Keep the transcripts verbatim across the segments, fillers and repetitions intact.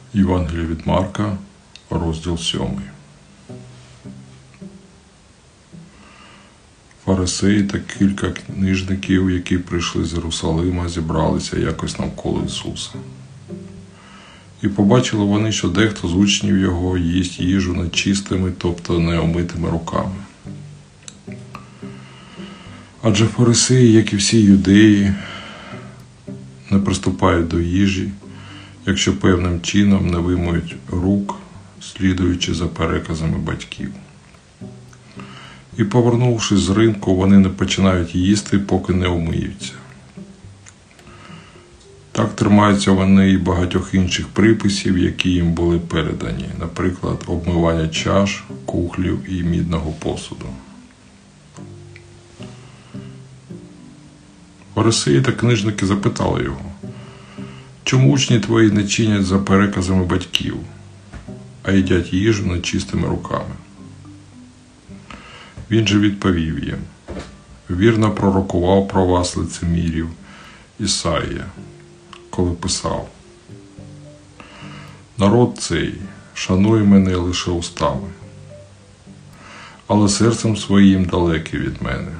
Євангеліє від Марка, розділ сьомий. Фарисеї та кілька книжників, які прийшли з Єрусалима, зібралися якось навколо Ісуса. І побачили вони, що дехто з учнів Його їсть їжу нечистими, тобто неомитими руками. Адже фарисеї, як і всі юдеї, не приступають до їжі, якщо певним чином не вимиють рук, слідуючи за переказами батьків. І, повернувшись з ринку, вони не починають їсти, поки не омиються. Так тримаються вони і багатьох інших приписів, які їм були передані, наприклад, обмивання чаш, кухлів і мідного посуду. Фарисеї та книжники запитали його: «Чому учні твої не чинять за переказами батьків, а їдять їжу нечистими руками?» Він же відповів їм: «Вірно пророкував про вас лицемірів Ісаїя, коли писав: народ цей шанує мене лише устами, але серцем своїм далекий від мене.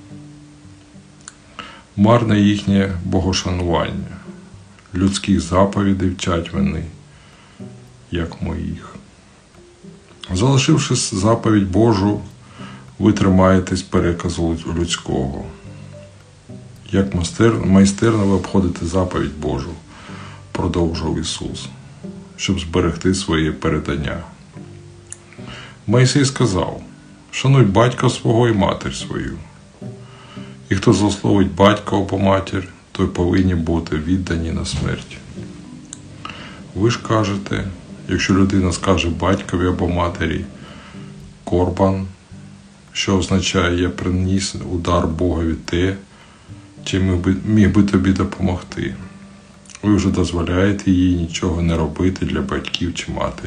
Марне їхнє богошанування, людських заповідей вчать вони, як моїх. Залишивши заповідь Божу, ви тримаєтесь переказу людського. Як майстерно ви обходите заповідь Божу», – продовжував Ісус, «щоб зберегти своє передання. Мойсей сказав: шануй батька свого і матір свою. І хто злословить батька або матір, той повинні бути віддані на смерть. Ви ж кажете, якщо людина скаже батькові або матері корбан, що означає «я приніс удар Богові те, чим міг би тобі допомогти», ви вже дозволяєте їй нічого не робити для батьків чи матері.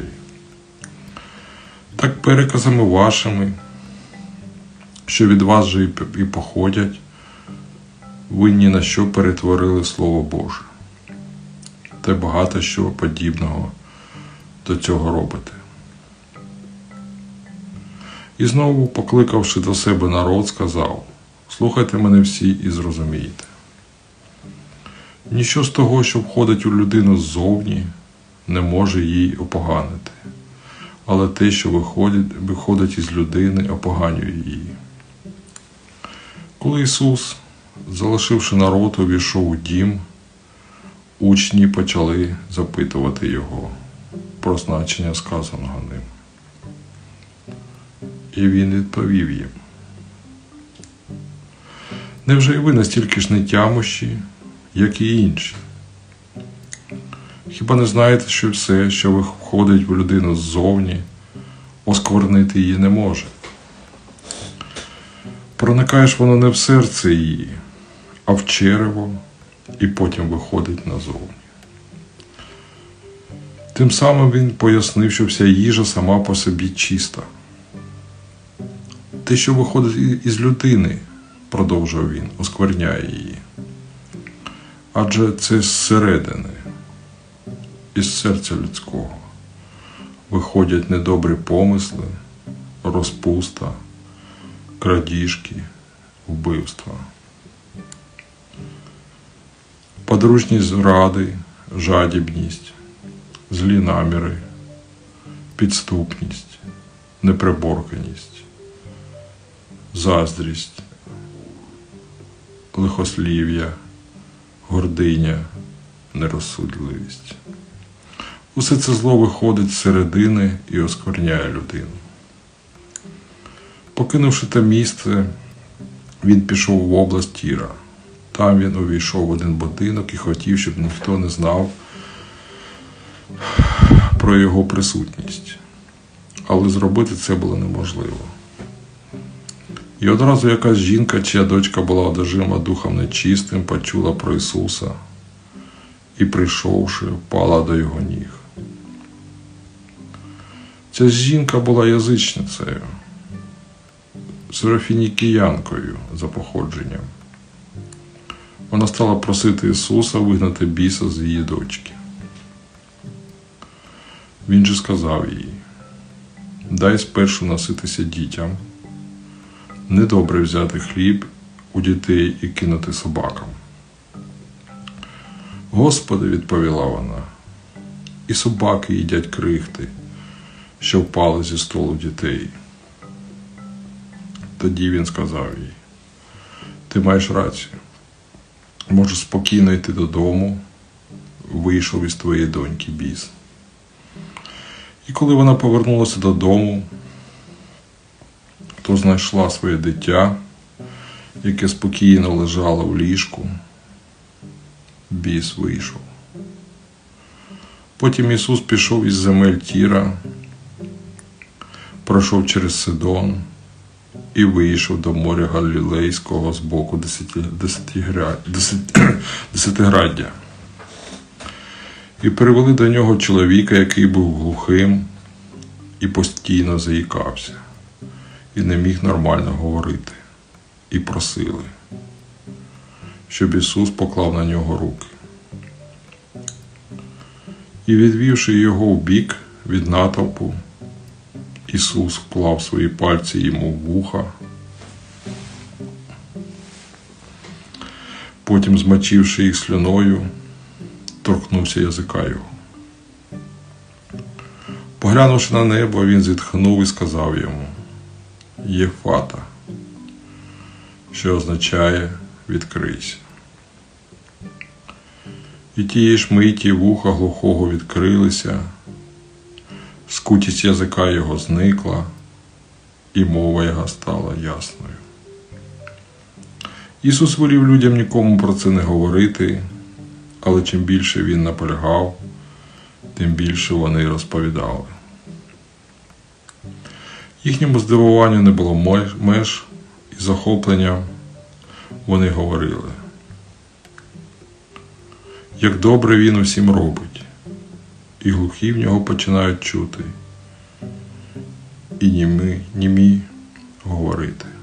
Так переказами вашими, що від вас же і походять, ви ні на що перетворили Слово Боже. Та багато що подібного до цього робите. І знову, покликавши до себе народ, сказав: слухайте мене всі і зрозумійте. Ніщо з того, що входить у людину ззовні, не може їй опоганити, але те, що виходить, виходить із людини, опоганює її. Коли Ісус, залишивши народ, увійшов у дім, учні почали запитувати Його про значення сказаного ним. І Він відповів їм: невже і ви настільки ж нетямощі, як і інші? Хіба не знаєте, що все, що виходить в людину ззовні, осквернити її не може? Проникає ж воно не в серце її, а в черево, і потім виходить назовні. Тим самим він пояснив, що вся їжа сама по собі чиста. Те, що виходить із людини, продовжував він, оскверняє її. Адже це зсередини, із серця людського, виходять недобрі помисли, розпуста, крадіжки, вбивства, подружні зради, жадібність, злі наміри, підступність, неприборканість, заздрість, лихослів'я, гординя, нерозсудливість. Усе це зло виходить з середини і оскверняє людину. Покинувши те місце, він пішов в область Тіра. Там він увійшов в один будинок і хотів, щоб ніхто не знав про його присутність. Але зробити це було неможливо. І одразу якась жінка, чия дочка була одержима духом нечистим, почула про Ісуса і, прийшовши, впала до Його ніг. Ця жінка була язичницею, сирофінікіянкою за походженням. Вона стала просити Ісуса вигнати біса з її дочки. Він же сказав їй: дай спершу наситися дітям. Недобре взяти хліб у дітей і кинути собакам. Господи, відповіла вона, і собаки їдять крихти, що впали зі столу дітей. Тоді він сказав їй: ти маєш рацію. Можеш спокійно йти додому, вийшов із твоєї доньки біс. І коли вона повернулася додому, то знайшла своє дитя, яке спокійно лежало в ліжку. Біс вийшов. Потім Ісус пішов із земель Тіра, пройшов через Сидон і вийшов до моря Галілейського з боку Десятиграддя. І привели до нього чоловіка, який був глухим і постійно заїкався, і не міг нормально говорити, і просили, щоб Ісус поклав на нього руки. І відвівши його вбік від натовпу, Ісус вклав свої пальці йому в вуха, потім, змочивши їх слюною, торкнувся язика його. Поглянувши на небо, він зітхнув і сказав йому: Єфата, що означає «відкрийся». І тієї ж миті вуха глухого відкрилися, скутість язика його зникла, і мова його стала ясною. Ісус волів людям нікому про це не говорити, але чим більше він наполягав, тим більше вони розповідали. Їхньому здивуванню не було меж, і захопленням вони говорили: як добре він усім робить, і глухі в нього починають чути, і німі, німі говорити.